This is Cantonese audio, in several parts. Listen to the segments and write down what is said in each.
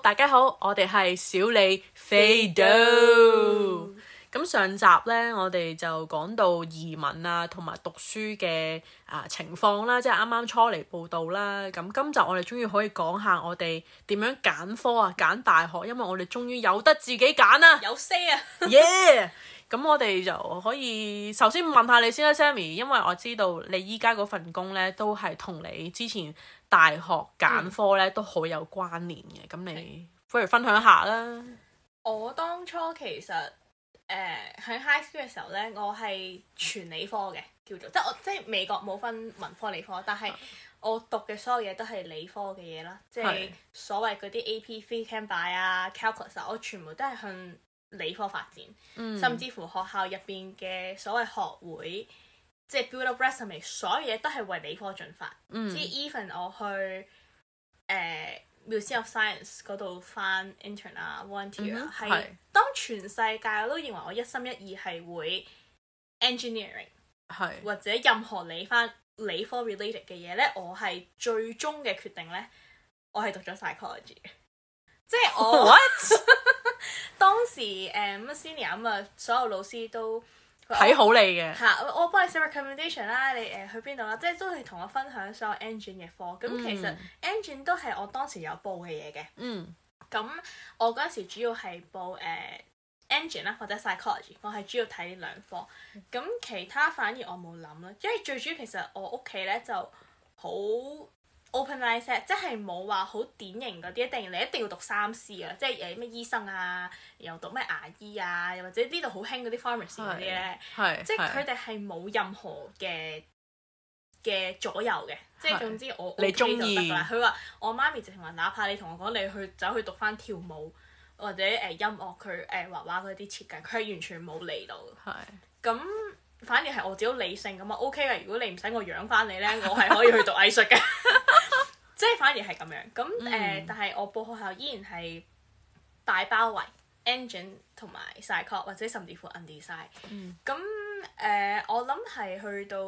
大家好，我哋係小李飛刀。咁上集呢，我哋就講到移民啊，同埋讀書嘅情況啦，即係啱啱初嚟報到啦。咁今集我哋終於可以講下我哋點樣揀科啊，揀大學，因為我哋終於有得自己揀啦， 有 say 啊 ！Yeah！咁我哋就可以首先問下你先啦，Sammy，因為我知道你依家嗰份工呢，都係同你之前大學揀科呢都好有關聯嘅。咁你不如分享下啦。 我當初其實喺 high school 嘅時候呢，我係全理科嘅，叫做即係美國冇分文科理科，但係我讀嘅所有嘢都係理科嘅嘢啦，即係所謂嗰啲 AP Phy Chem Bio 啊 Calculus 啊，我全部都係向理科發展，甚至乎學校入邊嘅所謂學會，即係 build up resume， 所有嘢都係為理科進發。即係 even 我去Museum of Science 嗰度翻 intern 啊 volunteer 啊，係當全世界我都認為我一心一意係會 engineering， 或者任何理科 related 嘅嘢咧，我係最終嘅決定咧，我係讀咗 psychology 嘅。即係我 what 當時senior 咁啊，所有老師都睇好你嘅嚇，我幫你寫 recommendation 啦，你去邊度啦？即係都係同我分享所有 engine 嘅科。咁其實 engine 都係我當時有報嘅嘢嘅。咁我嗰陣時主要係報engine 啦，或者 psychology， 我係主要睇呢兩科。咁其他反而我冇諗啦，因為最主要其實我屋企咧就好 open mindset， 即係冇話好典型嗰啲，你一定要讀3C 啊，即係咩醫生啊，又讀咩牙醫啊，又或者呢度好興嗰啲 pharmacy 嗰啲咧，即係佢哋係冇任何嘅左右嘅，即係總之我 OK 就得啦。佢話我媽咪直情話，哪怕你同我講你走去讀翻跳舞或者音樂，佢畫畫嗰啲設計，佢係完全冇理到。咁反而係我自己理性咁啊 OK 嘅，如果你唔使我養翻你咧，我係可以去讀藝術嘅。即係反而係咁樣，咁但係我報學校依然係大包圍 engine 同埋 psych 或者甚至乎 undesign。咁我諗係去到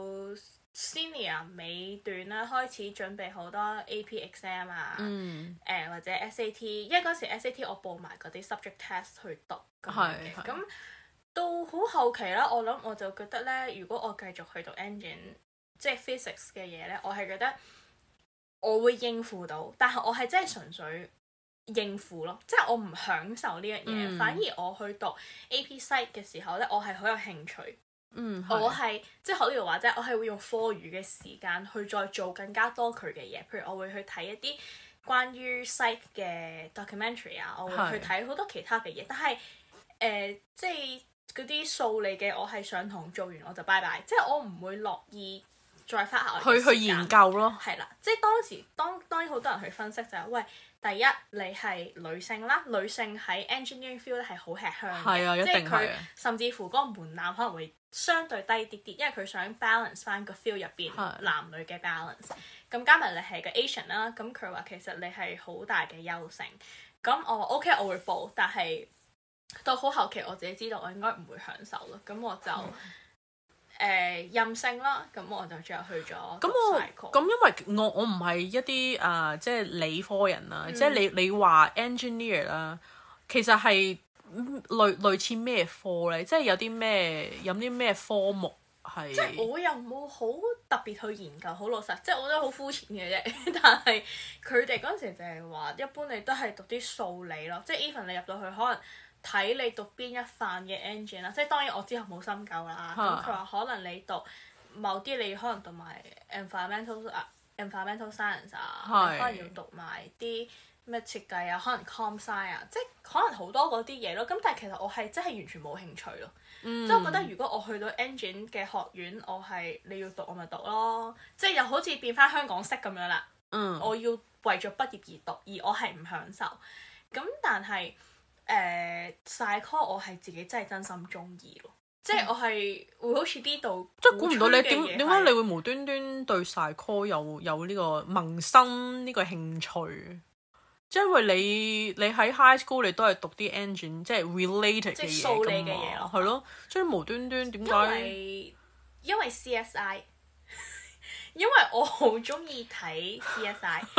senior 尾段啦，開始準備好多 AP exam 啊，或者 SAT， 因為嗰時 SAT 我報埋嗰啲 subject test 去讀咁樣嘅。咁到好後期啦，我諗我就覺得咧，如果我繼續去讀 engine， 即係 physics 嘅嘢咧，我係覺得我會應付到，但係我係真係純粹應付咯，即係我唔享受呢樣嘢。反而我去讀 AP Psych 嘅時候咧，我係好有興趣。我係即係學呢度話啫，我係會用課餘嘅時間去再做更加多佢嘅嘢。譬如我會去睇一啲關於 Psych 嘅 documentary 啊，我會去睇好多其他嘅嘢。但係即係嗰啲數理嘅，我係上堂做完我就拜拜，即係我唔會樂意再花下去研究咯。 係啦，即係當然好多人去分析就係，喂，第一你係女性啦，女性喺 engineering field 咧係好吃香嘅，即係佢甚至乎嗰個門檻可能會相對低啲啲，因為佢想 balance 翻個 field 入邊男女嘅 balance。咁加埋你係個 Asian 啦，咁佢話其實你係好大嘅優勝。咁我話 OK，我會報，但係到好後期我自己知道我應該唔會享受咯，咁我就任性啦，咁我就最後去咗讀 psych。 咁因為我唔係一啲即係理科人啦，即係你話 engineer 啦，其實係類似咩科咧？即係有啲咩科目係？ 即係我又冇好特別去研究，好老實，即係我覺得好膚淺嘅啫。但係佢哋嗰陣時就係話，一般你都係讀啲數理咯，即係 even 你入到去可能睇你讀邊一範嘅 engine 啦，即係當然我之後冇深究啦。咁佢話可能你讀某啲，你可能讀埋 environmental science 啊，可能要讀埋啲咩設計啊，可能 com sci 啊，即係可能好多嗰啲嘢咯。咁但係其實我係真係完全冇興趣咯。即係我覺得如果我去到 engine 嘅學院，你要讀我咪讀咯，即係又好似變翻香港式咁樣啦。我要為咗畢業而讀，而我係唔享受。咁但係psych 我係自己真係真心中意咯，即係我係會好似呢度， 即係估唔到你點解你會無端端對 psych 有呢個萌生呢個興趣？即係因為你喺 high school 你都係讀啲 engine 即係 related 嘅嘢數理嘅嘢咯， 係咯，即係無端端點解？ 因為 CSI， 因為我好中意睇 CSI。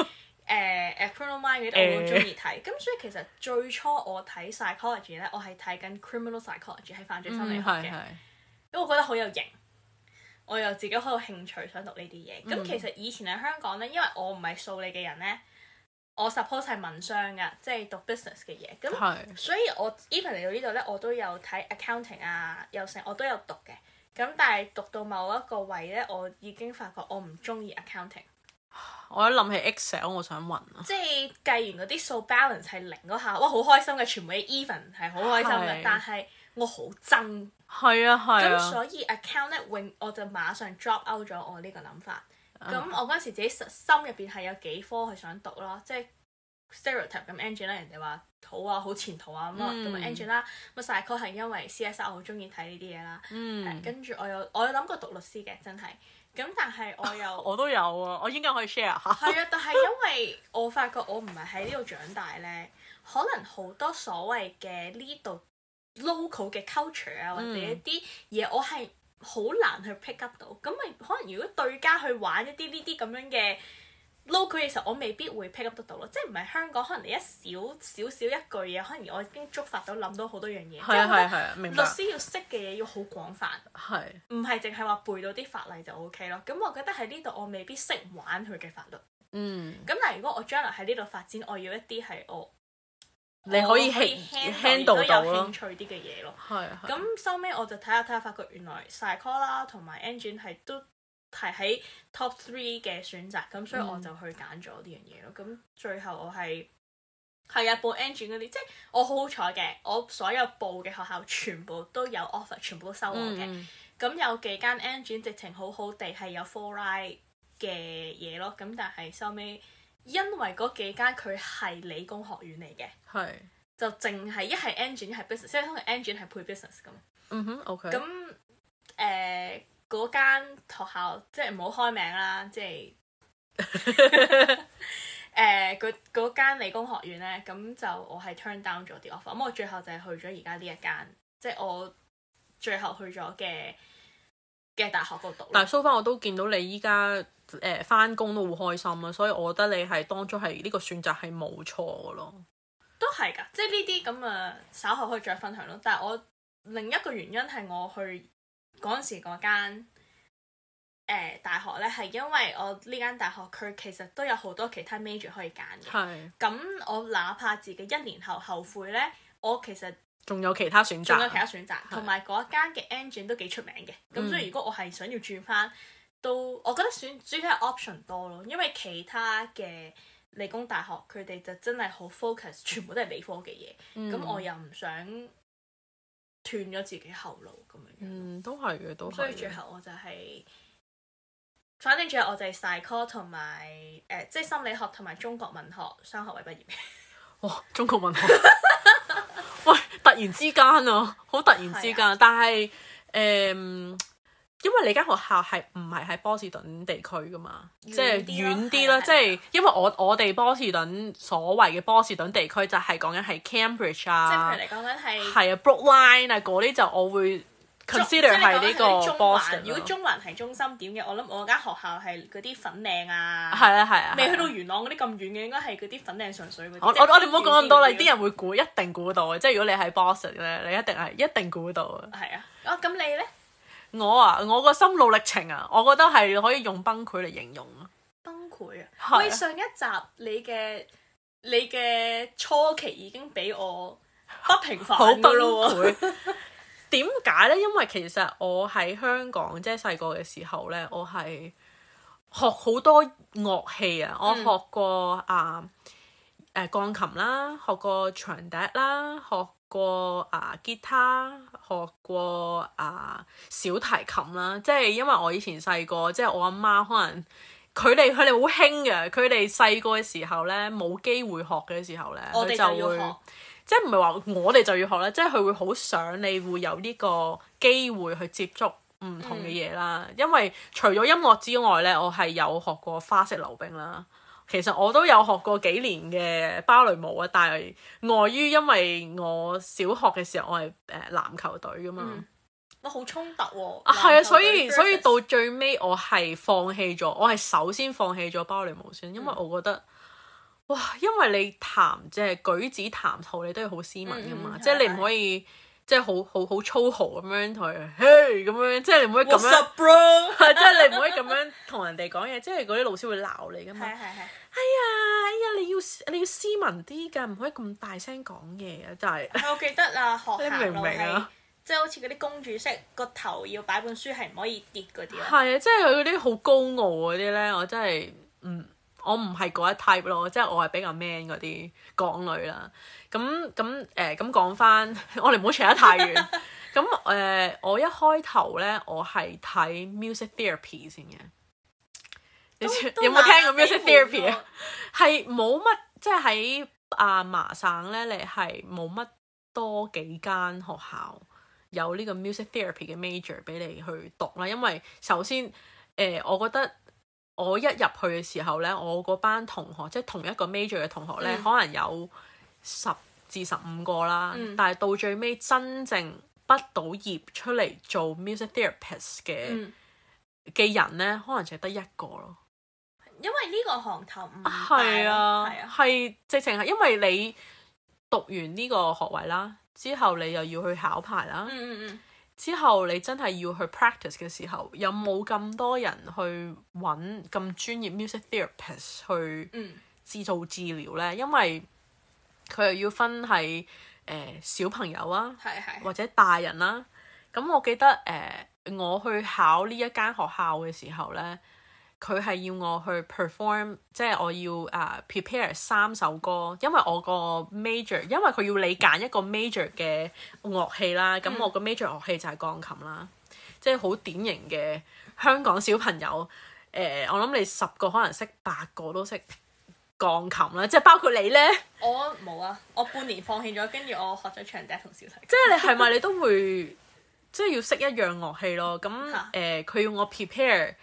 Criminal Minds嗰啲我都中意睇，咁所以其實最初我睇 psychology 咧，我係睇緊 criminal psychology 係犯罪心理學嘅，因為我覺得好有型，我又自己好有興趣想讀呢啲嘢。咁其實以前喺香港咧，因為我唔係數理嘅人咧，我 suppose 係文商噶，即係讀 business 嘅嘢，咁所以我 even 嚟到呢度咧，我都有睇 accounting 啊，又成我都有讀嘅。咁但係讀到某一個位咧，我已經發覺我唔中意 accounting。 我一諗起 Excel， 我想暈啊！ 即係計完嗰啲數 balance 係零嗰下，哇好開心嘅，全部啲 even 係好開心嘅，但係我好憎。係啊。咁所以 account 咧，我就馬上 drop out 咗我呢個諗法。咁我嗰陣時自己心入邊係有幾科係想讀咯，即係 stereotype 咁 engine 啦，人哋話好啊，好前途啊咁啊，咁 engine 啦，咁 psycho 係因為 CSR 我好中意睇呢啲嘢啦。跟住我有諗過讀律師嘅，真係。咁但係我又我都有啊，我應該可以 share 下。 係啊，但係因為我發覺我唔係喺呢度長大咧，可能好多所謂嘅呢度 local 嘅 culture 啊，或者一啲嘢我係好難去 pick up 到。咁咪可能如果對家去玩一啲呢啲咁樣嘅 local 嘅時候，我未必會 pick up 得到咯。即係唔係香港，可能你一少少一句嘢，可能我已經觸發到諗到好多樣嘢。係，明白。律師要識嘅嘢要好廣泛，唔係淨係話背到啲法例就 OK 咯。咁我覺得喺呢度我未必識玩佢嘅法律。咁但係如果我將來喺呢度發展，我要一啲係你可以 handle 到有興趣啲嘅嘢咯。咁收尾我就睇下，發覺原來 psycho 啦同埋 engine 係都係喺 top 3嘅選擇，咁所以我就去揀咗呢樣嘢咯。咁最後我係啊報 engine 嗰啲，即係我好好彩嘅，我所有報嘅學校全部都有 offer， 全部都收我嘅。咁有幾間 engine 直情好好地係有 full ride 嘅嘢咯。咁但係收尾因為嗰幾間佢係理工學院嚟嘅，就淨係一係 engine 一係 business， 即係通常 engine 係配 business 咁。OK。咁嗰間學校即係唔好開名啦，即係嗰間理工學院咧，咁就我係 turn down 咗啲 offer，咁我最後就係去咗而家呢一間，即係我最後去咗嘅大學嗰度讀。但係 so far 我都見到你依家返工都好開心啊，所以我覺得你係當初係呢個選擇係冇錯嘅咯。 都係㗎，即係呢啲咁啊，稍後可以再分享咯。但係我另一個原因係我去嗰陣時嗰間大學咧，係因為我呢間大學佢其實都有好多其他 major 可以揀嘅。咁我哪怕自己1年後後悔咧，我其實仲有其他選擇， 同埋嗰間嘅 engine 都幾出名嘅。咁所以如果我係想要轉翻，都我覺得主要係 option 多咯，因為其他嘅理工大學佢哋就真係好 focus， 全部都係理科嘅嘢。咁我又唔想斷咗自己後路咁樣。都係嘅，都係。所以最後我就係，反正最後我就係 psycho 同埋即係心理學同埋中國文學雙學位畢業嘅。 哇！中國文學，喂，突然之間啊，好突然之間。但係因為你間學校係唔係喺波士頓地區噶嘛，即係遠啲啦。即係因為我哋波士頓所謂嘅波士頓地區就係講緊係 Cambridge 啊，即係譬如你講緊係Brookline 啊嗰啲，就我會 consider 係呢個 Boston。如果中環係中心點嘅，我諗我間學校係嗰啲粉嶺啊，未去到元朗嗰啲咁遠嘅，應該係嗰啲粉嶺上水嗰啲。我哋唔好講咁多啦，啲人會估，一定估到嘅。即係如果你喺 Boston 咧，你一定估到嘅。係啊，咁你咧？我個心路歷程啊，我覺得係可以用崩潰嚟形容啊。崩潰啊！喂，上一集你嘅初期已經俾我不平凡㗎咯喎。點解咧？因為其實我喺香港即係細個嘅時候咧，我係學好多樂器啊。我學過鋼琴啦，學過長笛啦，學過吉他，學過小提琴啦。即係因為我以前細個，即係我阿媽可能佢哋好興嘅，佢哋細個嘅時候咧冇機會學嘅時候咧，佢就會即係唔係話我哋就要學咧，即係佢會好想你會有呢個機會去接觸唔同嘅嘢啦。因為除咗音樂之外咧，我係有學過花式溜冰啦。其實我都有學過幾年嘅芭蕾舞啊，但係礙於因為我小學嘅時候我係籃球隊噶嘛，我好衝突喎。係啊，所以到最尾我係放棄咗，我係首先放棄咗芭蕾舞先，因為我覺得哇，因為你即係舉止談吐，你都要好斯文噶嘛，即係你唔可以即係好粗豪咁樣同佢，嘿咁樣，即係你唔可以咁樣， What's up, bro? 即係你唔可以咁樣同人哋講嘢，即係嗰啲老師會鬧你噶嘛。係。哎呀，你要斯文啲㗎，唔可以咁大聲講嘢啊！真係。我記得啊，學校你明唔明啊？即係好似嗰啲公主式，個頭要擺本書係唔可以跌嗰啲啊。 係啊，即係佢嗰啲好高傲嗰啲咧，我真係我唔係嗰一 type 咯，即係我係比較 man 嗰啲港女啦。咁講翻，我哋唔好扯得太遠。咁我一開頭咧，我係睇 music therapy 先嘅。你有冇聽過 music therapy 啊？係冇乜，即係喺麻省咧，你係冇乜多幾間學校有呢個 music therapy 嘅 major 俾你去讀啦。因為首先我覺得我一入去嘅時候咧，我嗰班同學即係同一個 major 嘅同學咧，可能有10至15個啦。但係到最尾真正畢到業出嚟做 music therapist 嘅人咧，可能就係得一個咯。 因為呢個行頭唔大， 係啊，係直情係因為你讀完呢個學位啦，之後你又要去考牌啦，之後你真係要去 practice 嘅時候，有冇咁多人去揾咁專業 music therapist 去做治療呢？因為佢又要分係小朋友啊，或者大人啦。咁我記得我去考呢一間學校嘅時候呢，佢係要我去 perform， 即係我要prepare 3首歌，因為我個 major， 因為佢要你揀一個 major 嘅樂器啦，咁我個 major 樂器就係鋼琴啦，即係好典型嘅香港小朋友。我諗你10個可能識8個都識鋼琴啦，即係包括你呢？ 我冇啊，我半年放棄咗，跟住我學咗長笛同小提琴。 即係你係咪你都會即係要識一樣樂器咯？咁佢要我 prepare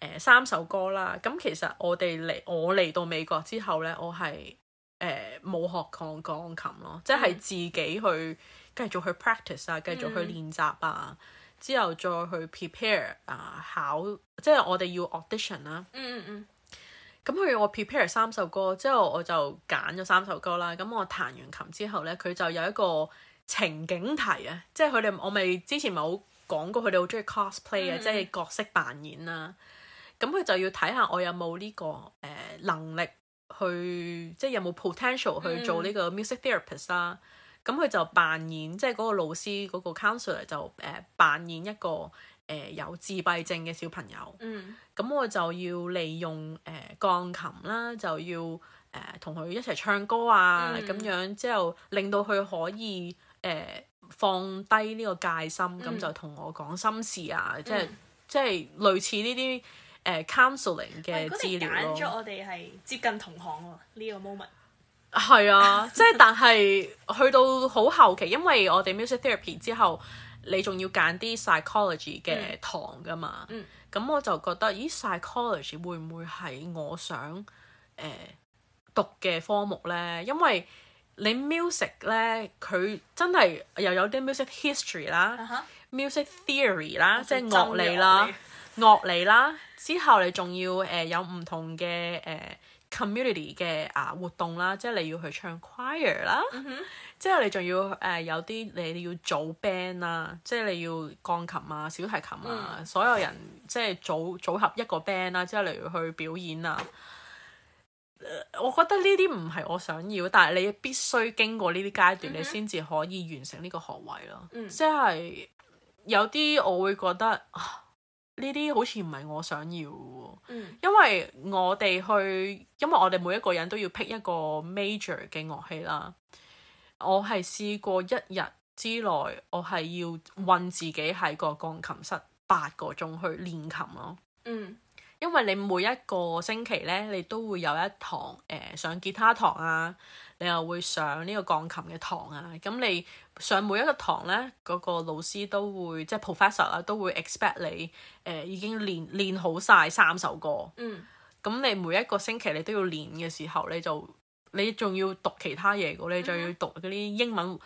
3首歌啦，咁其實我嚟到美國之後呢，我係冇學鋼琴咯，即係自己去繼續去 practice 啊，繼續去練習啊，之後再去 prepare 考，即係我哋要 audition 啦。咁佢要我 prepare 3首歌，之後我就揀咗3首歌啦。咁我彈完琴之後呢，佢就有一個情景題啊，即係我咪之前咪好講過，佢哋好中意 cosplay 啊，即係角色扮演啦。咁佢就要睇下我有冇呢個能力去，即係有冇 potential 去做呢個 music therapist 啦。咁佢就扮演，即係嗰個老師嗰個 counselor 就扮演一個有自閉症嘅小朋友。咁我就要利用鋼琴啦，就要同佢一齊唱歌啊，咁樣之後令到佢可以放低呢個戒心，咁就同我講心事啊，即係類似呢啲counseling 嘅資料咯。 揀咗我哋係接近同行喎，呢個 moment。 係啊，即係但係去到好後期，因為我哋 music therapy 之後，你仲要揀啲 psychology 嘅堂噶嘛。咁我就覺得，咦 psychology 會唔會係我想讀嘅科目呢？因為你 music 呢，佢真係又有啲 music history 啦、music theory 啦，即係樂理啦，之後你仲要有唔同嘅community 嘅活動啦，即係你要去唱 choir 啦，之後你仲要有啲你要組 band 啦，即係你要鋼琴啊、小提琴啊，所有人即係組合一個 band 啦，之後你要去表演啊。我覺得呢啲唔係我想要，但係你必須經過呢啲階段，你先至可以完成呢個學位咯。即係有啲我會覺得呢啲好似唔係我想要嘅，因為我哋每一個人都要 pick 一個 major 嘅樂器啦。我係試過1日之內，我係要韞自己喺個鋼琴室8個鐘去練琴咯。因為你每一個星期呢，你都會有一堂上吉他堂啊，你又會上呢個鋼琴嘅堂啊。咁你上每一個堂呢，嗰個老師都會即係 professor 啦，都會 expect 你已經練好晒3首歌。咁你每一個星期你都要練嘅時候，你仲要讀其他嘢嘅，你就要讀嗰啲英文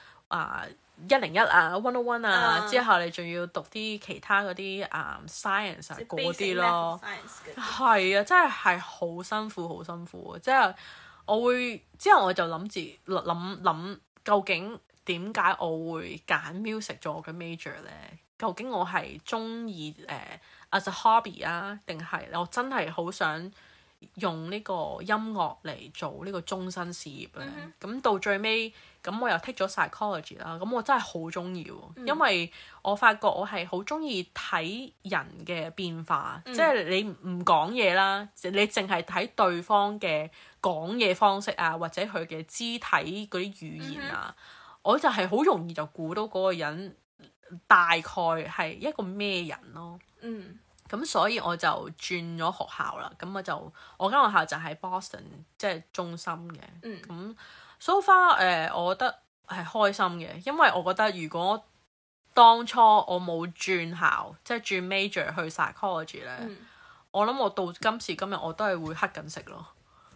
101啊 101 啊，之後你仲要讀啲其他嗰啲science 嗰啲咯。係啊，真係好辛苦好辛苦，即係之後我就諗究竟點解我會揀 music 做我嘅 major 咧？究竟我係中意as a hobby 啊，定係我真係好想用呢個音樂嚟做呢個終身事業咧？咁到最尾，咁我又 take 咗 psychology 啦。咁我真係好中意喎，因為我發覺我係好中意睇人嘅變化，即係你唔講嘢啦，你淨係睇對方嘅講嘢方式啊，或者佢嘅肢體嗰啲語言啊，我就係好容易就估到嗰個人大概係一個咩人咯。咁所以我就轉咗學校啦。咁我間學校就喺 Boston， 即係中心嘅。咁 so far 我覺得係開心嘅，因為我覺得如果當初我冇轉校，即係轉 major 去 psychology 咧，我諗我到今時今日我都係會黑緊食咯。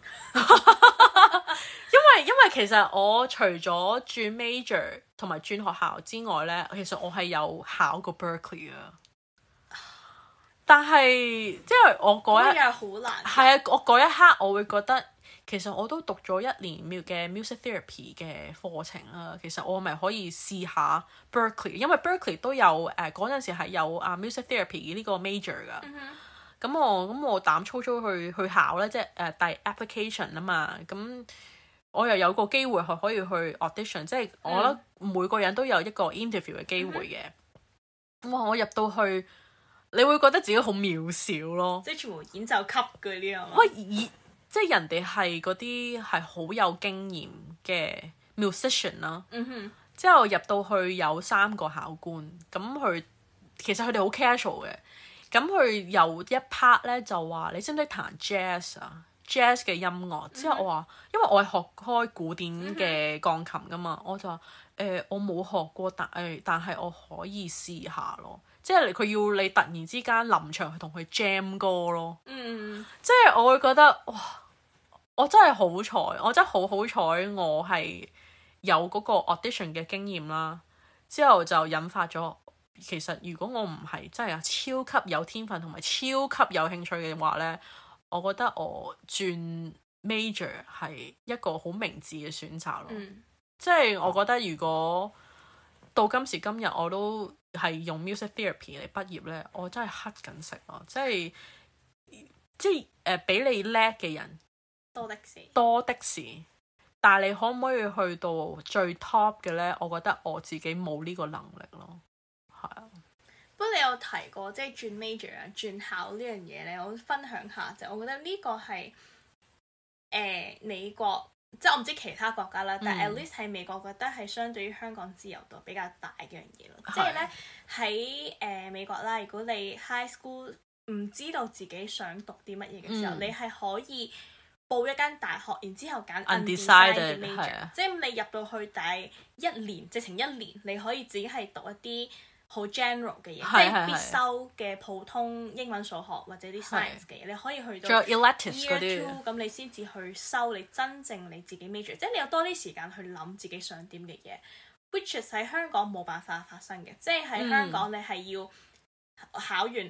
因為其實我除咗轉 major 同埋轉學校之外咧，其實我係有考過 Berkeley 啊。但係即係我嗰一日好難。 係啊，我嗰一刻我會覺得其實我都讀咗1年嘅 music therapy 嘅課程啦。其實我咪可以試下 Berkeley， 因為 Berkeley 都有嗰陣時係有music therapy 呢個 major 噶。咁我膽粗粗去考咧，即係遞 application 啊嘛。咁我又有個機會係可以去 audition，即係我覺得每個人都有一個 interview 嘅機會嘅。哇！我入到去，你會覺得自己好渺小咯， 即係全部演奏級嗰啲啊嘛。 喂，即係人哋係嗰啲係好有經驗嘅 musician 啦。之後入到去有3個考官，咁其實佢哋好 casual 嘅。咁佢有一 part 咧就話：你識唔識彈 jazz 啊？jazz 嘅音樂。之後我話，因為我係學開古典嘅鋼琴噶嘛，我就話我冇學過，但係我可以試下咯。即係佢要你突然之間臨場去同佢 jam 歌咯。即係我會覺得哇，我真係好彩，我真係好彩，我係有嗰個 audition 嘅經驗啦。之後就引發咗，其實如果我唔係真係超級有天分同埋超級有興趣嘅話呢，我覺得我轉 major 係一個好明智嘅選擇咯。即係我覺得如果到今時今日我都係用 music therapy 嚟畢業呢，我真係黑緊食咯。即係比你叻嘅人多的是，但係你可唔可以去到最 top 嘅呢？我覺得我自己冇呢個能力咯。係啊。 不過你有提過即係轉 major 啊、轉校呢樣嘢咧，我分享下就我覺得呢個係美國。即係我唔知其他國家啦，但係 at least 喺美國覺得係相對於香港自由度比較大嘅樣嘢咯。即係咧喺美國啦，如果你 high school 唔知道自己想讀啲乜嘢嘅時候，你係可以報一間大學，然之後揀 undecided major。即係你入到去第1年，直情1年，你可以自己係讀一啲好 general 嘅嘢，即係必修嘅普通英文、數學或者啲 science 嘅嘢，你可以去到 year 2，咁你先至去修你真正你自己 major， 即係你有多啲時間去諗自己想點嘅嘢 ，which is 喺香港冇辦法發生嘅，即係喺香港你係要考完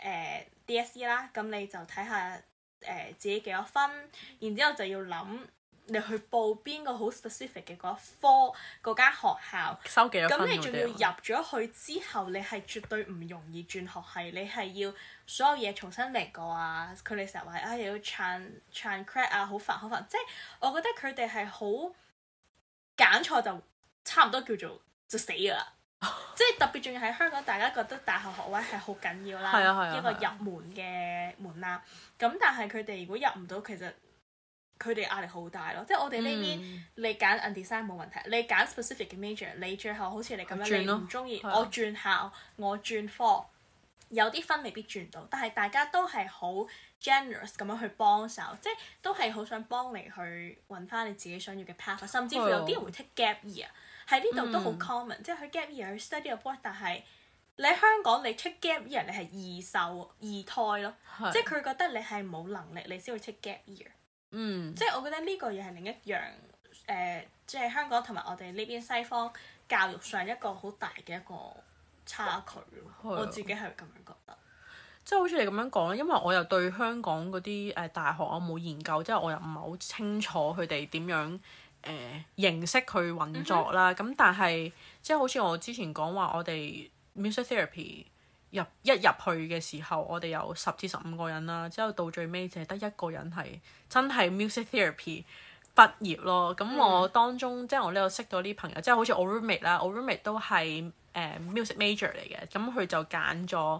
DSE 啦，咁你就睇下自己幾多分，然之後就要諗。你去報邊個好 specific 嘅嗰科嗰間學校， 收幾多分？ 咁你仲要入咗去之後，你係絕對唔容易轉學系，你係要所有嘢重新嚟過啊！佢哋成日話又要 transcript 啊，好煩好煩。即係我覺得佢哋係好揀錯就差唔多叫做就死㗎啦。即係特別仲要喺香港，大家覺得大學學位係好緊要啦，一個入門嘅門檻。咁但係佢哋如果入唔到，其實佢哋壓力好大咯，即係我哋呢邊你揀 undecided 冇問題，你揀 specific 嘅 major， 你最後好似你咁樣，你唔中意，我轉校，我轉科，有啲分未必轉到，但係大家都係好 generous 咁樣去幫手，即係都係好想幫你去揾翻你自己想要嘅 path， 甚至乎有啲人會 take gap year， 喺呢度都好 common，即係去 gap year 去 study abroad，但係你喺香港你 take gap year 你係易受易胎咯，即係佢覺得你係冇能力你先會 take gap year。即係我覺得呢個嘢係另一樣即係香港同埋我哋呢邊西方教育上一個好大嘅一個差距咯。我自己係咁樣覺得。 即係好似你咁樣講，因為我又對香港嗰啲大學我冇研究，即係我又唔係好清楚佢哋點樣形式去運作啦。咁但係即係好似我之前講話，我哋 music therapy 入去嘅時候，我哋有10至15個人啦，之後到最尾淨係得1個人係真係 music therapy 畢業咯。咁我當中即係我呢度識到啲朋友，即係好似我 roommate 啦，我 roommate 都係music major 嚟嘅，咁佢就揀咗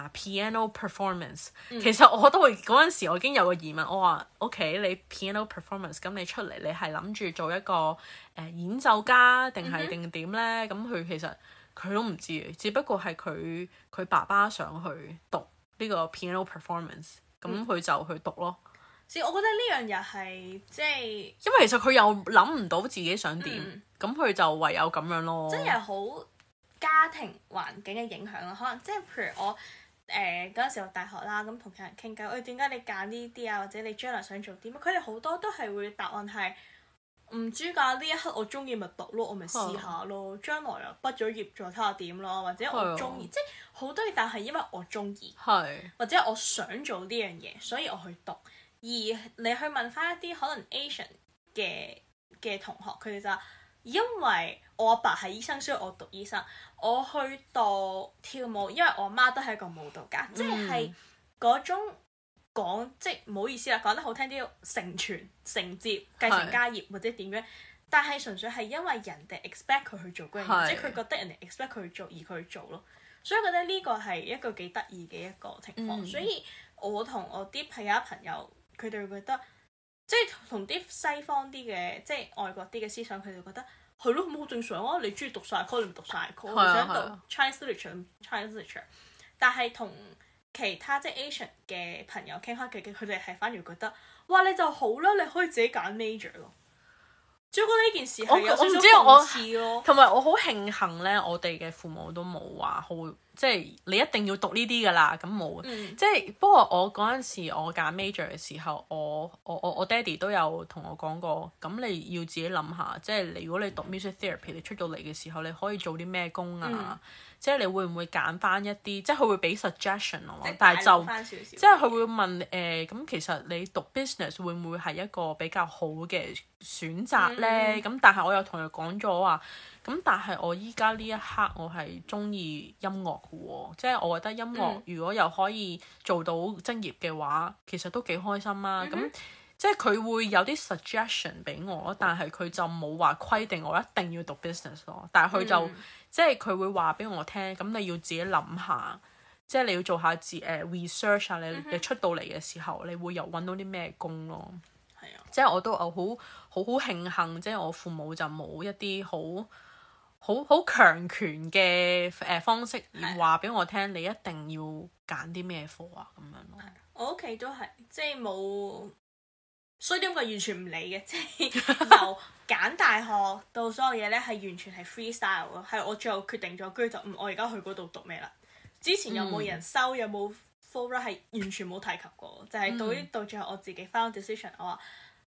piano performance。其實我都會嗰陣時，我已經有個疑問，我話 OK， 你 piano performance，咁你出嚟你係諗住做一個演奏家定係定點咧？咁佢其實佢都唔知嘅，只不過係佢爸爸想去讀呢個 piano performance，咁佢就去讀咯。 我覺得呢樣又係即係， 因為其實佢又諗唔到自己想點，咁佢就唯有咁樣咯。 真係好家庭環境嘅影響咯，可能即係譬如我嗰陣時讀大學啦，咁同其他人傾偈，點解你揀呢啲啊？或者你將來想做啲乜？佢哋好多都係會答案係唔知㗎，呢一刻我中意咪讀咯，我咪試下咯。將來啊畢咗業再睇下點咯，或者我中意，即係好多嘢，但係因為我中意，或者我想做呢樣嘢，所以我去讀。而你去問翻一啲可能 Asian 嘅同學，佢哋就話因為我阿爸係醫生，所以我讀醫生。我去讀跳舞，因為我媽都係一個舞蹈家，即係嗰種講，即係唔好意思啦，講得好聽啲，承傳、承接、繼承家業或者點樣，但係純粹係因為人哋 expect 佢去做嗰樣嘢，即係佢覺得人哋 expect 佢去做而佢去做咯。所以我覺得呢個係一個幾得意嘅一個情況。所以我同我啲朋友，佢哋會覺得，即係同啲西方啲嘅，即係外國啲嘅思想，佢哋覺得係咯，咁好正常啊！你中意讀晒科，你唔讀晒科，你想讀 Chinese literature，但係同其他即係 Asian 嘅朋友傾開佢哋係反而覺得，哇！你就好啦，你可以自己揀 major 咯。只不過呢件事係有少少諷刺咯。同埋我好慶幸咧，我哋嘅父母都冇話好。即係你一定要讀呢啲㗎啦，咁冇。即係不過我嗰陣時我揀 major 嘅時候，我爹哋都有同我講過，咁你要自己諗下，即係如果你讀 music therapy，你出到嚟嘅時候，你可以做啲咩工啊？即係你會唔會揀翻一啲，即係佢會俾 suggestion 咯，但係就即係佢會問咁其實你讀 business 會唔會係一個比較好嘅選擇咧？咁但係我又同佢講咗話。咁但係我依家呢一刻我係中意音樂嘅喎，即係我覺得音樂如果又可以做到職業嘅話，其實都幾開心啊！咁即係佢會有啲 suggestion 俾我，但係佢就冇話規定我一定要讀 business 咯。但係佢就即係佢會話俾我聽，咁你要自己諗下，即係你要做下research 啊！你出到嚟嘅時候，你會又揾到啲咩工咯？係啊，即係我都好慶幸，即係我父母就冇一啲好強權嘅方式而話俾我聽，你一定要揀啲咩科啊咁樣咯。 我屋企都係即係冇，所以點解完全唔理嘅，即係由揀大學到所有嘢咧係完全係 freestyle 咯，係我最後決定咗，跟住就我而家去嗰度讀咩啦。之前有冇人收，有冇 full run 係完全冇提及過，就係到最後我自己 final decision，我話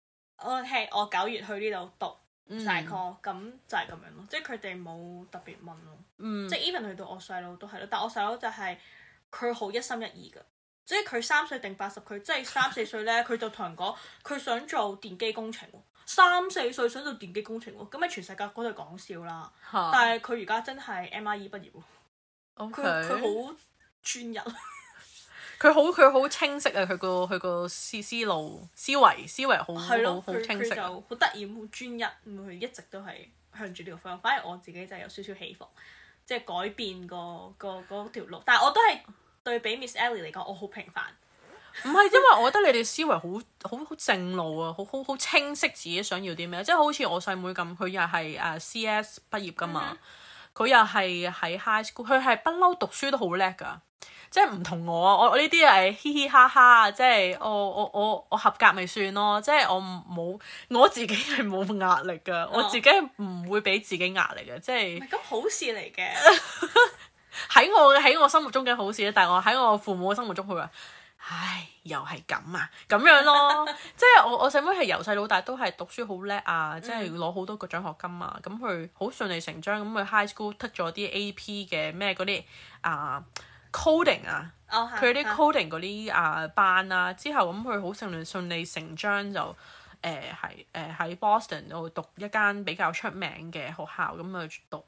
OK，我9月去呢度讀。大概咁就係咁樣咯，即係佢哋冇特別問咯，即係 even 去到我細佬都係咯，但我細佬就係佢好一心一意㗎，即係佢3歲定80，佢即係3、4歲咧，佢就同人講佢想做電機工程喎，3、4歲想做電機工程喎，咁喺全世界嗰度講笑啦，但係佢而家真係 MIE 畢業喎，佢好專一。 佢好清晰啊！佢個思維好清晰， 好得意，好專一，佢一直都係向住呢個方向。反而我自己就有少少起伏，即係改變嗰條路。但係我都係對比 Miss Ellie 嚟講，我好平凡。 唔係，因為我覺得你哋思維好正路啊，好清晰自己想要啲咩。即係好似我細妹咁，佢又係CS 畢業㗎嘛，佢又係喺 high school，佢係不嬲讀書都好叻㗎。即係唔同我呢啲係嘻嘻哈哈，即係我合格咪算咯，即係我自己係冇壓力㗎，我自己唔會俾自己壓力嘅，即係。唔係咁好事嚟嘅。喺我心目中嘅好事咧，但係我喺我父母嘅心目中，佢話：唉，又係咁啊，咁樣咯。即係我細妹係由細到大都係讀書好叻啊，即係攞好多個獎學金啊，咁佢好順理成章咁去 high school 剔咗啲 AP 嘅咩嗰啲 coding 啊，佢啲 coding 嗰啲班啊，之後咁佢好順理成章就喺 Boston 度讀一間比較出名嘅學校，咁去讀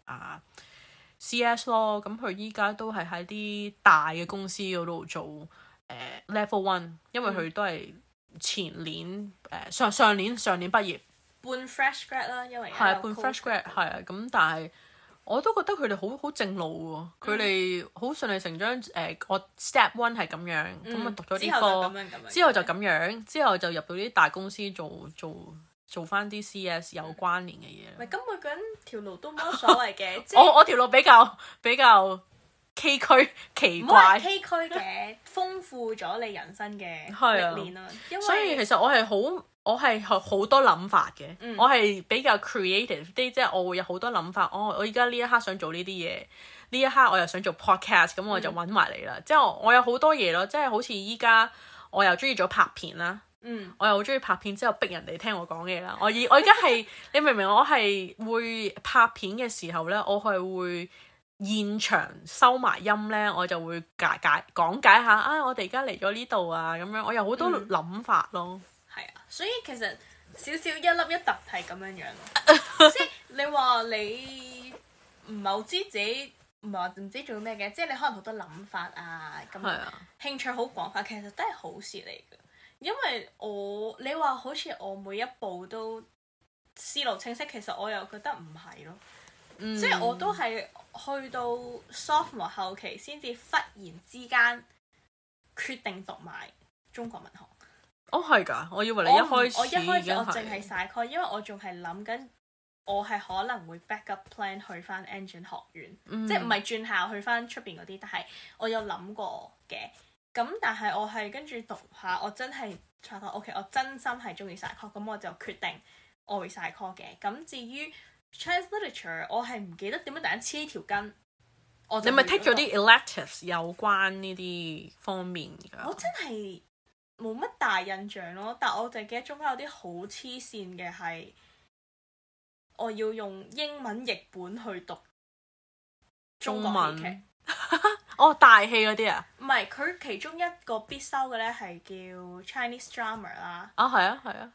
CS 咯。咁佢依家都係喺啲大嘅公司嗰度做level 1，因為佢都係前年上年畢業， 半 fresh grad 啦，因為係半 fresh grad 係啊。咁但係我都覺得佢哋好正路喎，佢哋好順理成章。我 step 1係咁樣，咁啊讀咗啲科，之後就咁樣，之後就入到啲大公司做翻啲 CS 有關聯嘅嘢。 唔係，咁每個人條路都冇乜所謂嘅。 我條路比較崎嶇奇怪。 唔好話崎嶇嘅，豐富咗你人生嘅歷練啦。 所以其實我係好多諗法嘅，我係比較 creative 啲，即係我會有好多諗法。我而家呢一刻想做呢啲嘢，呢一刻我又想做 podcast，咁我就揾埋你啦。即係我有好多嘢咯，即係好似依家我又中意咗拍片啦，我又好中意拍片之後逼人哋聽我講嘢啦。我而家係你明唔明？我係會拍片嘅時候呢，我係會現場收埋音呢，我就會講解下我哋而家嚟咗呢度啊，咁樣我有好多諗法咯。 係啊，所以其實少少一粒一突係咁樣樣，即係你話你唔係好知自己，唔係話唔知做咩嘅，即係你可能好多諗法啊，咁興趣好廣泛，其實都係好事嚟嘅。因為你話好似我每一步都思路清晰，其實我又覺得唔係咯，即係我都係去到 sophomore 後期先至忽然之間決定讀埋中國文學。係㗎，我以為你一開始我淨係晒 call，因為我仲係諗緊，我係可能會 backup plan 去翻 engine 學院，即係唔係轉校去翻出邊嗰啲，但係我有諗過嘅。咁但係我係跟住讀下，我真係發覺 OK， 我真心係中意晒 call，咁我就決定我會晒 call 嘅。咁至於 Chinese literature， 我係唔記得點樣突然黐條筋。你咪 take 咗啲 electives 有關呢啲方面㗎？ 我真係冇乜大印象咯，但我就記得中間有啲好黐線嘅係，我要用英文譯本去讀中國戲劇。 大戲嗰啲啊？ 唔係，佢其中一個必修嘅咧係叫 Chinese drama 啦。 係啊。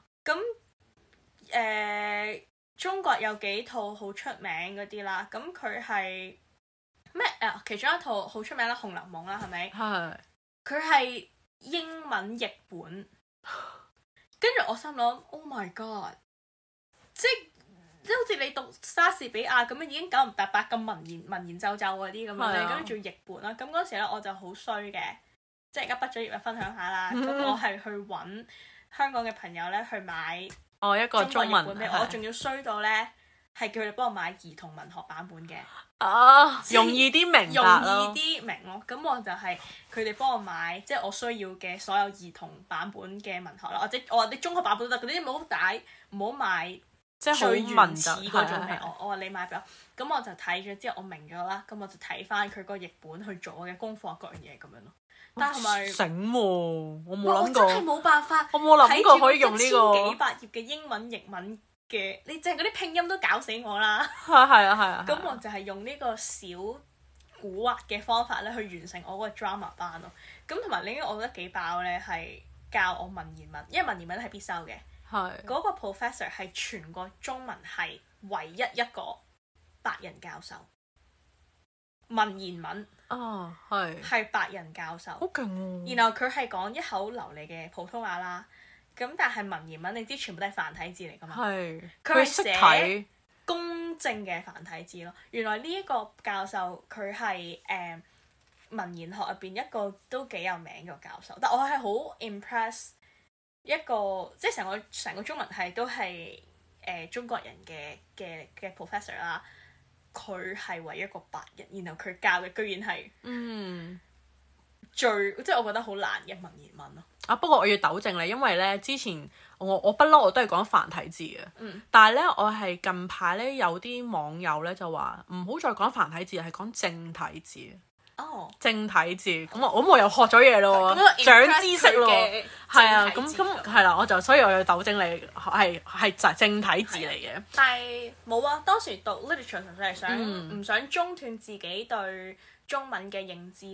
咁中國有幾套好出名嗰啲啦，咁佢係咩？其中一套好出名啦，《紅樓夢》啦，係咪？係。佢係英文譯本，跟住我心諗 ，Oh my god！ 即係好似你讀莎士比亞咁樣，已經九唔搭八咁文言皺皺嗰啲咁樣咧，跟住仲要譯本啦。咁嗰時咧我就好衰嘅，即係而家畢咗業就分享下啦。咁我係去揾香港嘅朋友咧去買一個中文譯本俾我，仲要衰到咧係叫佢哋幫我買兒童文學版本嘅。 容易啲明咯，咁我就係佢哋幫我買，即係我需要嘅所有兒童版本嘅文學啦，或者我話你中學版本都得，嗰啲唔好帶，唔好買即係最原始嗰種俾我。我話你買俾我，咁我就睇咗之後我明咗啦，咁我就睇翻佢個譯本去做我嘅功課各樣嘢咁樣咯。但係咪醒喎？我冇諗過， 我真係冇辦法， 我冇諗過可以用呢個 1000幾百頁嘅英文譯文。你淨係嗰啲拼音都搞死我啦！ 係啊！ 咁我就係用呢個小古惑嘅方法咧去完成我嗰個 drama 班咯。咁同埋另一個我覺得幾爆咧，係教我文言文，因為文言文係必修嘅。係嗰個 professor 係全個中文系唯一一個白人教授，文言文係白人教授， 好勁喎！ 然後佢係講一口流利嘅普通話啦。咁但係文言文你知全部都係繁體字嚟㗎嘛？係。佢係寫公正嘅繁體字咯。原來呢一個教授佢係文言學入邊一個都幾有名嘅教授，但我係好 impress 一個即係成個中文系都係中國人嘅 professor 啦。佢係唯一一個白人，然後佢教嘅居然係最即係我覺得好難嘅文言文咯。 不過我要糾正你，因為咧之前我不嬲我都係講繁體字嘅，但係咧我係近排咧有啲網友咧就話唔好再講繁體字，係講正體字。正體字，咁我又學咗嘢咯，長知識咯，係啊，咁係啦，所以我要糾正你，係正體字嚟嘅。 但係冇啊，當時讀 literature 純粹係唔想中斷自己對中文嘅認知咯。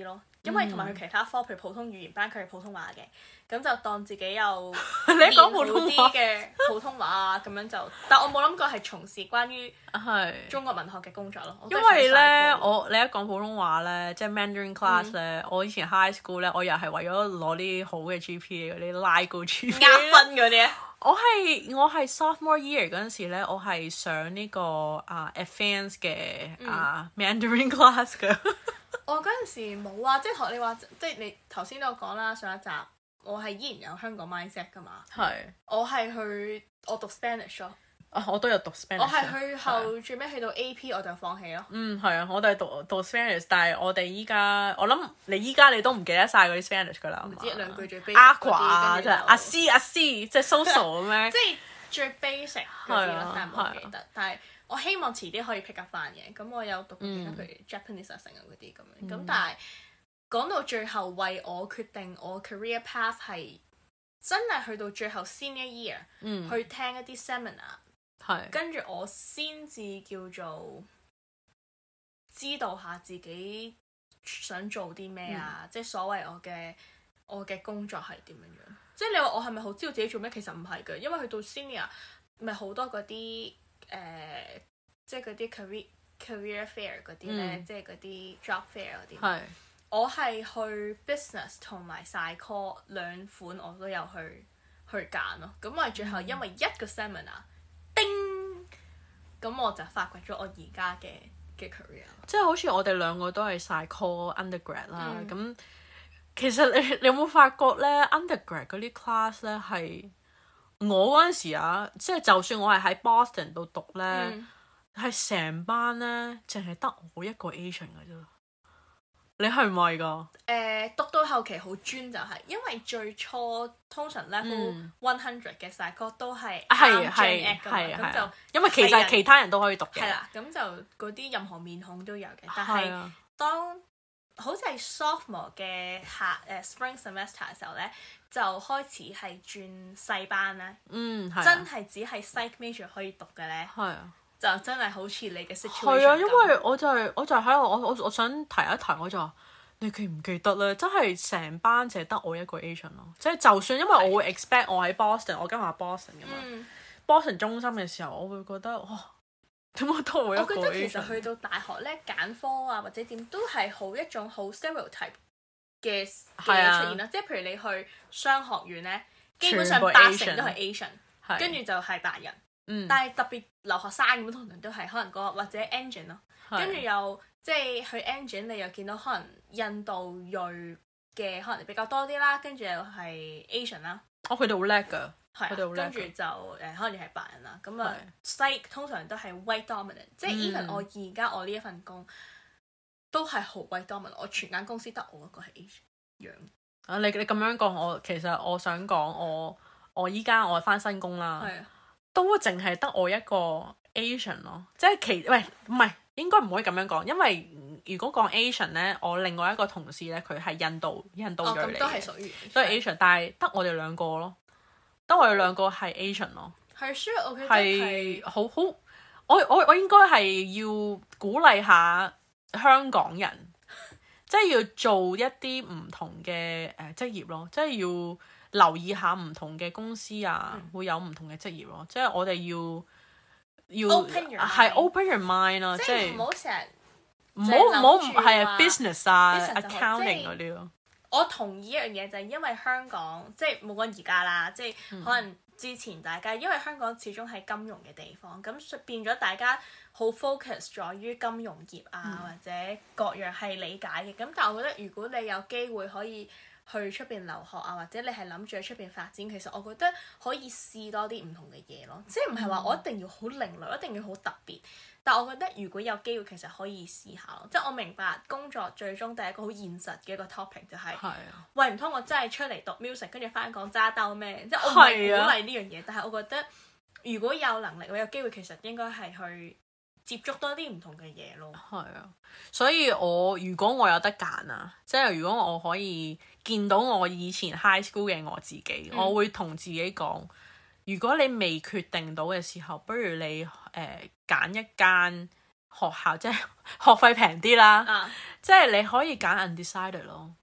因為同埋佢其他科，譬如普通語言班，佢係普通話嘅，咁就當自己有你講普通話嘅普通話啊，咁樣就，但我冇諗過係從事關於中國文學嘅工作咯。 因為咧，你一講普通話咧，即係 Mandarin class 咧，我以前 high school 咧，我又係為咗攞啲好嘅 GPA 嗰啲拉高 GPA 壓分嗰啲。 我係 sophomore year 嗰陣時咧，我係上呢個advanced 嘅Mandarin class 嘅。 我嗰陣時冇啊，即係學你話，即係你頭先都有講啦，上一集我係依然有香港 mindset 噶嘛。係。我讀 Spanish 咯。 我都有讀 Spanish。 我係去後最尾去到 AP 我就放棄咯。 係啊，我都係讀 Spanish，但係我哋依家，我諗你都唔記得晒嗰啲 Spanish 噶啦。 唔知一兩句最 basic 嗰啲， 啊，即係阿 C，即係 social 咁樣。 即係最 basic 嗰啲咯，但係唔記得。但係我希望遲啲可以 pick up 翻嘅。咁我有讀其他譬如 Japanese 啊、成啊嗰啲咁樣。咁但係講到最後，為我決定我 career path 係真係去到最後 senior year 去聽一啲 seminar，跟住我先至叫做知道下自己想做啲咩啊，即係所謂我嘅工作係點樣樣。即係你話我係咪好知道自己做咩？其實唔係嘅，因為去到 senior 咪好多嗰啲即係嗰啲 career fair 嗰啲咧，即係嗰啲 job fair 嗰啲。我係去 business 同埋 psycho 兩款我都有去揀咯。咁我係最後因為一個 seminar，叮，咁我就發掘咗我而家嘅 career。即係好似我哋兩個都係 psycho undergrad 啦。咁其實你有冇發覺咧 undergrad 嗰啲 class 咧係我嗰陣時啊，即係就算我係喺 Boston 度讀咧，係成班咧淨係得我一個 Asian 嘅啫。你係唔係㗎？ 讀到後期好專就係，因為最初通常 level 100嘅 psycho 都係啱 Gen Ed 㗎嘛，咁就因為其實其他人都可以讀嘅。 係啦，咁就嗰啲任何面孔都有嘅。但係當好似係 sophomore 嘅spring semester 嘅時候咧，就開始係轉細班咧。真係只係 psych major 可以讀嘅咧。係啊。就真係好似你嘅 situation 係啊，因為我就係喺度，我想提一提，我就話你記唔記得咧？真係成班淨係得我一個 Asian 咯。即係就算因為我會 expect 我喺 Boston，我今日喺 Boston 㗎嘛。Boston 中心嘅時候，我會覺得哇，點解得我一個 Asian？ 我覺得其實去到大學咧，揀科啊或者點都係好一種好 stereotype 嘅嘢出現啦。即係譬如你去商學院咧，基本上80%都係 Asian， 跟住就係白人。但係特別留學生咁，通常都係可能或者 engine 咯，跟住又即係去 engine， 你又見到可能印度裔嘅可能比較多啲啦，跟住又係 Asian 啦。 佢哋好叻㗎，佢哋好叻。 跟住就可能又係白人啦。咁啊，psych 通常都係 white dominant，即係 even 我而家我呢一份工都係好 white dominant。我全間公司得我一個係 Asian 樣。 啊，你咁樣講，其實我想講我依家我返新工啦。都淨係得我一個 Asian 咯，即係唔係應該唔可以咁樣講，因為如果講 Asian 咧，我另外一個同事咧，佢係印度裔嚟嘅， 都係屬於都係 Asian，但係得我哋兩個咯，得我哋兩個係 Asian 咯， 係需要我係好，我應該係要鼓勵下香港人，即係要做一啲唔同嘅職業咯，即係要留意下唔同嘅公司啊，會有唔同嘅職業咯，即係我哋要 open your mind 咯，即係唔好成日唔好係啊 business 啊 accounting 嗰啲咯。 我同意一樣嘢就係因為香港即係冇講而家啦，即係可能之前大家因為香港始終係金融嘅地方，咁變咗大家好 focus 在於金融業啊或者各樣係理解嘅。咁但係我覺得如果你有機會可以去出邊留學啊，或者你係諗住喺出邊發展，其實我覺得可以試多啲唔同嘅嘢咯。即係唔係話我一定要好另類，一定要好特別。但我覺得如果有機會，其實可以試下咯。即係我明白工作最終第一個好現實嘅一個 topic 就係，喂唔通我真係出嚟讀 music， 跟住翻港揸兜咩？即係我唔係鼓勵呢樣嘢，但係我覺得如果有能力，我有機會，其實應該係去接觸多啲唔同嘅嘢咯。 係啊，所以如果我有得揀啊，即係如果我可以見到我以前 high school 嘅我自己，我會同自己講，如果你未決定到嘅時候，不如你揀一間學校，即係學費平啲啦，即係你可以揀 undecided 咯，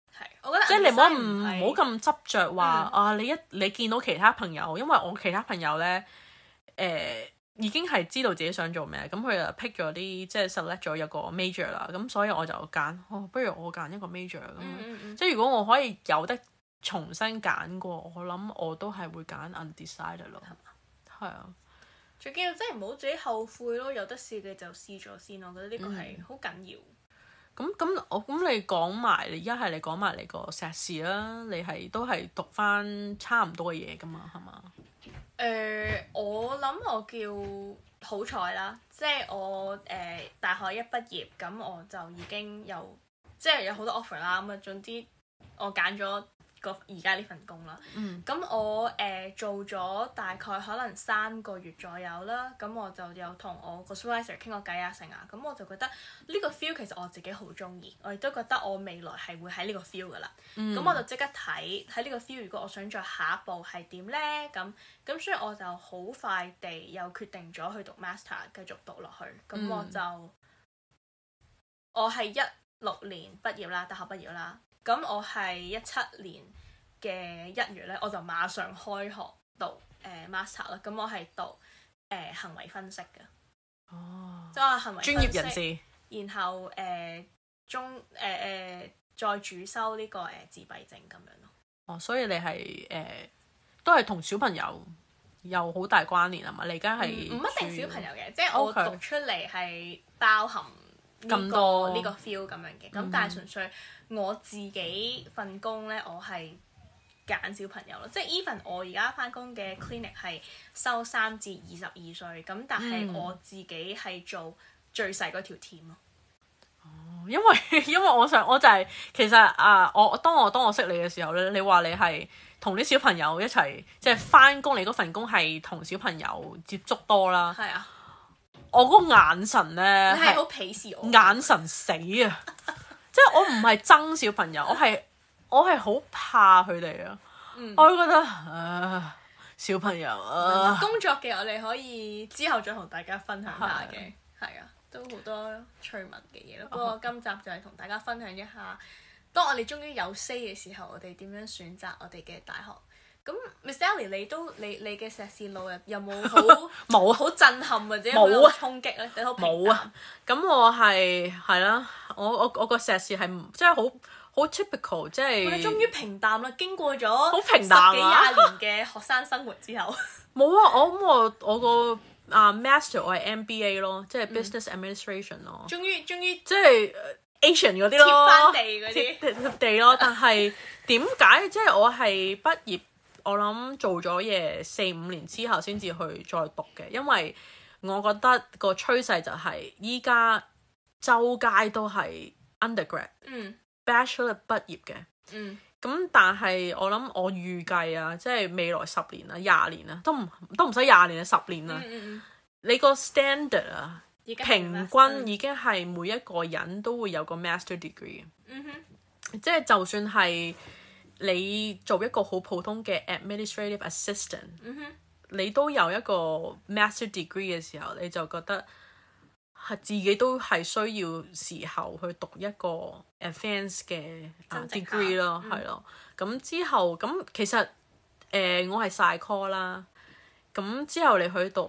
我覺得即係你唔好咁執着話啊！你見到其他朋友，因為我其他朋友咧已經係知道自己想做咩，咁佢就 pick 咗啲即係 select 咗一個 major 啦，咁所以我就揀不如我揀一個 major 咁。即係如果我可以有得重新揀過，我諗我都係會揀 undecided 咯。係啊， 最緊要即係唔好自己後悔咯，有得試嘅就試咗先，我覺得呢個係好緊要。 咁你講埋，你講埋你個碩士啦，你係都係讀翻差唔多嘅嘢噶嘛，係嘛？ 我諗我叫好彩啦，即係我大學一畢業，咁我就已經即係有好多 offer 啦，咁啊總之我揀咗而家呢份工啦。咁我做咗大概可能3個月左右啦，咁我就有同我個 supervisor 傾過偈啊成啊，咁我就覺得呢個 feel 其實我自己好中意，我亦都覺得我未來係會喺呢個 feel 噶啦。咁我就即刻睇呢個 feel，如果我想再下一步係點呢？咁所以我就好快地又決定咗去讀 master 繼續讀落去。咁我係16年畢業啦，大學畢業啦。咁我係17年嘅1月咧，我就馬上開學讀master 啦。咁我係讀行為分析嘅，即係行為分析專業人士。然後再主修呢個自閉症咁樣咯。所以你係都係同小朋友有好大關聯啊嘛？你而家係唔一定小朋友嘅，即係我讀出嚟係包含咁多呢個 feel 咁樣嘅。咁但係純粹我自己份工咧，我係揀小朋友咯。即係 even 我而家翻工嘅 clinic 係收3至22歲，咁但係我自己係做最細嗰條 team 咯。 因為我就係其實當我識你嘅時候咧，你話你係同啲小朋友一齊，即係翻工，你嗰份工係同小朋友接觸多啦。係啊，我嗰個眼神咧， 你係好鄙視我， 眼神死啊！即係我唔係憎小朋友，我係好怕佢哋啊！我會覺得小朋友工作嘅我哋可以之後再同大家分享下嘅，係啊。都好多趣聞嘅嘢咯，不過今集就係同大家分享一下，當我哋終於有 say 嘅時候，我哋點樣選擇我哋嘅大學。咁 Miss Ellie，你嘅碩士路有冇好震撼或者好有衝擊咧？ 冇啊！咁我係啦，我個碩士係即係好 typical， 即係我哋終於平淡啦，經過咗好平淡 10幾20年嘅學生生活之後。 冇啊！我個master 我係 MBA 咯，即係 business administration 咯。終於即係 Asian 嗰啲咯， 貼翻地嗰啲貼地咯。但係點解即係我係畢業，我諗做咗嘢4-5年之後先至去再讀嘅，因為我覺得個趨勢就係依家周街都係 undergrad、bachelor 畢業嘅。咁但係我諗我預計啊，即係未來10年啊、20年啊，都唔使20年啊，10年啊，你個 standard 啊，平均已經係每一個人都會有個 master degree 嘅。即係就算係你做一個好普通嘅 administrative assistant，你都有一個 master degree 嘅時候，你就覺得係自己都係需要時候去讀一個 advanced 嘅 degree 咯，係咯。咁之後咁其實我係 psycho 啦，咁之後你去讀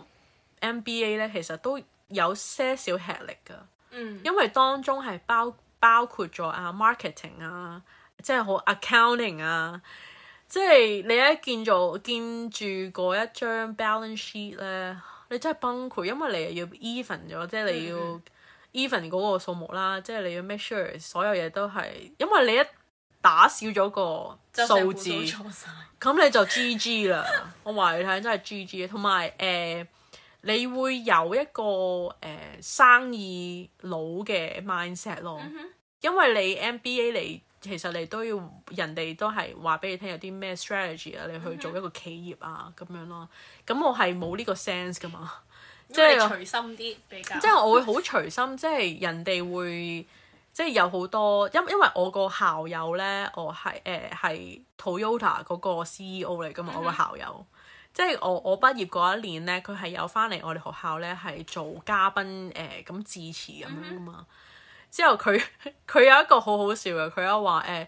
MBA 咧，其實都有些少吃力㗎，因為當中係包括咗marketing 啊，即係好 accounting 啊，即係你一見住嗰一張 balance sheet 咧，你真係崩潰，因為你又要 even 咗，即係你要 even 嗰個數目啦，即係你要 make sure 所有嘢都係，因為你一打少咗個數字，咁你就 GG 啦。我話你睇真係 GG， 同埋你會有一個生意佬嘅 mindset 咯，因為你 MBA 其實你都要人哋都係話俾你聽有啲咩 strategy 啊，你去做一個企業啊咁樣咯。咁我係冇呢個 sense 噶嘛，即係隨心啲比較。即係我會好隨心，即係人哋會即係有好多，因為我個校友咧，我係 Toyota 嗰個 CEO 嚟噶嘛，我個校友。即係我畢業嗰一年咧，佢係有翻嚟我哋學校咧，係做嘉賓咁致辭咁樣噶嘛。之後佢有一個好好笑嘅，佢有話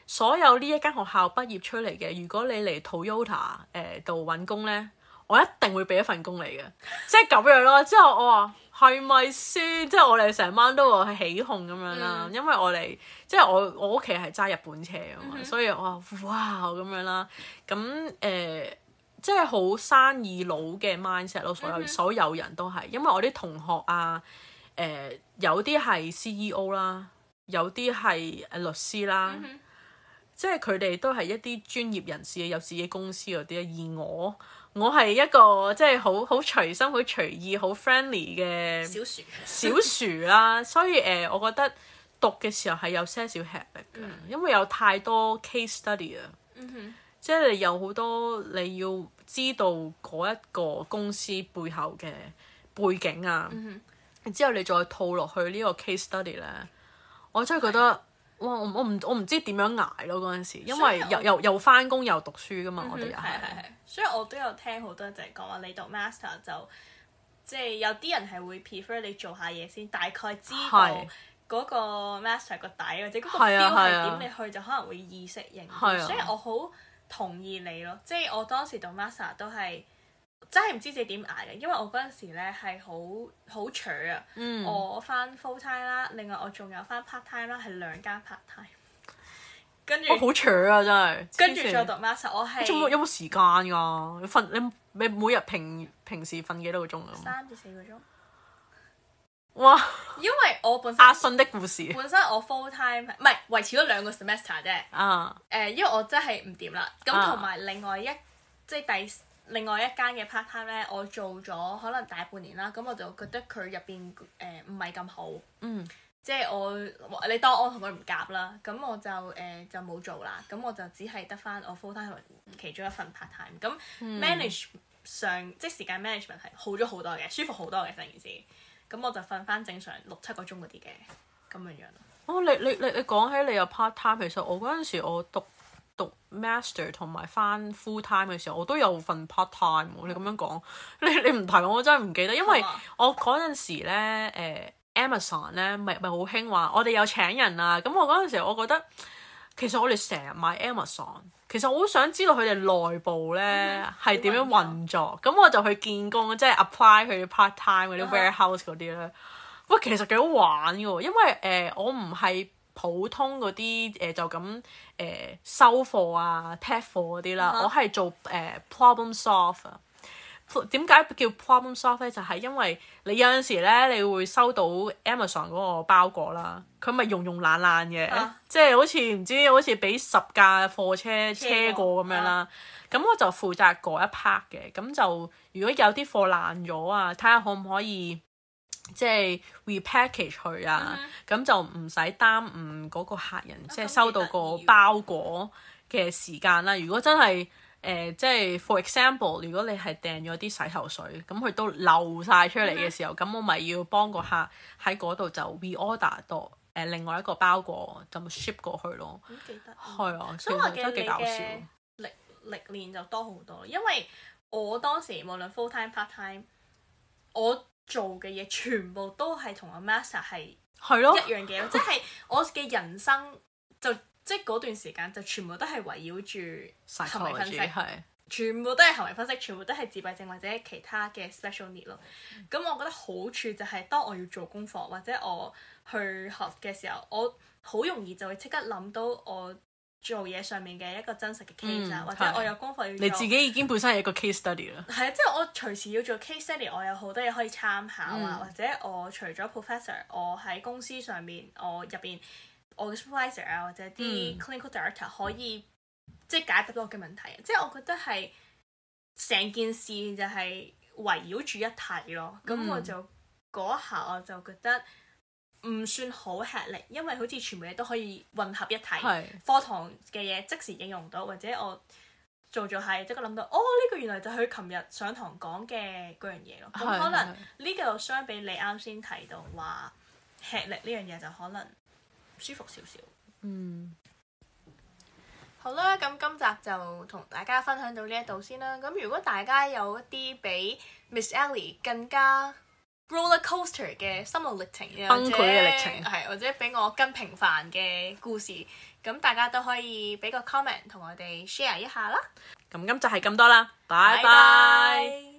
所有呢一間學校畢業出嚟嘅，如果你嚟 Toyota 度揾工咧，我一定會俾一份工你嘅，即係咁樣咯。之後我話係咪先？即係我哋成班都話起哄咁樣啦，因為我哋即係我屋企係揸日本車啊嘛，所以我話哇咁樣啦。咁即係好生意佬嘅 mindset 咯，所有人都係，因為我啲同學啊，有啲係 CEO 啦，有啲係律師啦，即係佢哋都係一啲專業人士，有自己公司嗰啲。而我係一個即係好隨心、好隨意、好 friendly 嘅小薯啦，所以我覺得讀嘅時候係有些少吃力嘅，因為有太多 case study 啊。即係你有好多你要知道嗰一個公司背後嘅背景啊，之後你再套落去呢個 case study 咧，我真係覺得哇！我唔知點樣捱咯嗰陣時，因為又返工又讀書噶嘛，我哋又係。 所以我都有聽好多就係講話你讀 master 就即係有啲人係會 prefer 你做下嘢先，大概知道嗰個 master 個底或者嗰個 feel 係點，你去就可能會易適應。所以我好同意你咯，即係我當時讀 master 都係真係唔知自己點捱嘅，因為我嗰陣時咧係好扯啊。我翻 full time 啦，另外我仲有翻 part time 啦，係2間 part time。跟住好扯啊，真係。 跟住再讀 master， 我係有冇時間㗎？你每日平時瞓幾多個鐘啊 ？3至4個鐘。 哇！ 因為我本身阿信的故事， 本身我 full time 唔係維持咗2個 semester 啫。因為我真係唔掂啦。咁同埋另外一間嘅 part time 咧，我做咗可能大半年啦。咁我就覺得佢入邊唔係咁好。即係你當我同佢唔夾啦。咁我就冇做啦。咁我就只係得翻我 full time 其中一份 part time。咁 manage 上即係時間 management 係好咗好多嘅，舒服好多嘅成件事。咁我就瞓翻正常6-7個鐘嗰啲嘅咁樣樣咯。 你講起你有 part time， 其實我嗰陣時我讀 master 同埋翻 full time 嘅時候，我都有份 part time。你咁樣講，你唔提我真係唔記得，因為我嗰陣時咧Amazon 咧咪好興話我哋有請人啊。咁我嗰陣時我覺得其實我哋成日買 Amazon。其實我好想知道佢哋內部咧係點樣運作，咁我就去見工，即係 apply 佢 part time 嗰啲 warehouse 嗰啲咧。喂，其實幾好玩嘅喎，因為我唔係普通嗰啲就咁收貨啊 tag 貨嗰啲啦，我係做problem solve 啊。點解叫 problem solve 咧？就係因為你有陣時咧，你會收到 Amazon 嗰個包裹啦，佢咪溶爛嘅，即係好似俾10架貨車過咁樣啦。咁我就負責嗰一 part 嘅，咁就如果有啲貨爛咗啊，睇下可唔可以即係 repackage 佢啊，咁就唔使耽誤嗰個客人即係收到個包裹嘅時間啦。如果真係即係 for example， 如果你係訂咗啲洗頭水，咁佢都漏晒出嚟嘅時候，咁我咪要幫個客喺嗰度就 reorder 到另外一個包裹，就 ship 過去咯。 記得係啊， 所以我記得幾搞笑。 歷練就多好多，因為我當時無論 full time part time， 我做嘅嘢全部都係同我 master 係一樣嘅，即係我嘅人生就。即係嗰段時間就全部都係圍繞住行為分析，全部都係行為分析，全部都係自閉症或者其他嘅 special need 咯。咁我覺得好處就係當我要做功課或者我去學嘅時候，我好容易就會即刻諗到我做嘢上面嘅一個真實嘅 case 啊，或者我有功課要做。 你自己已經本身係一個 case study 啦。係啊，即係我隨時要做 case study， 我有好多嘢可以參考啊，或者我除咗 professor， 我喺公司上面我入邊。我嘅 supervisor 啊，或者啲 clinical director 可以即係解答到我嘅問題，即係我覺得係成件事就係圍繞住一體咯。咁我就嗰一下我就覺得唔算好吃力，因為好似全部嘢都可以混合一體。課堂嘅嘢即時應用到，或者我做下即刻諗到，呢個原來就係佢琴日上堂講嘅嗰樣嘢咯。咁可能呢個相比你啱先提到話吃力呢樣嘢就可能舒服少少。好啦，咁今集就同大家分享到呢一度先啦。咁如果大家有一啲比 Miss Ellie 更加 roller coaster 嘅心路歷程， 崩潰嘅歷程， 係或者俾我更平凡嘅故事，咁大家都可以俾個 comment 同我哋 share 一下啦。 咁就係咁多啦，拜拜。 拜拜。